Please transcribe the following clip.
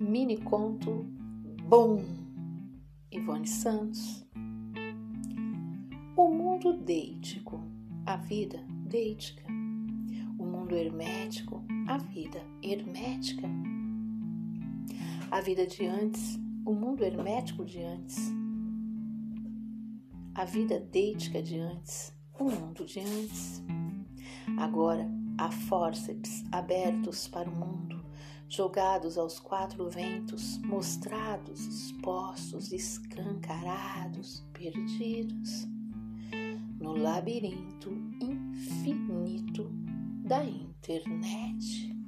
Mini conto Bom, Ivone Santos. O mundo deítico, a vida deítica. O mundo hermético, a vida hermética. A vida de antes, o mundo hermético de antes. A vida deítica de antes, o mundo de antes. Agora há fórceps abertos para o mundo, jogados aos quatro ventos, mostrados, expostos, escancarados, perdidos, no labirinto infinito da internet.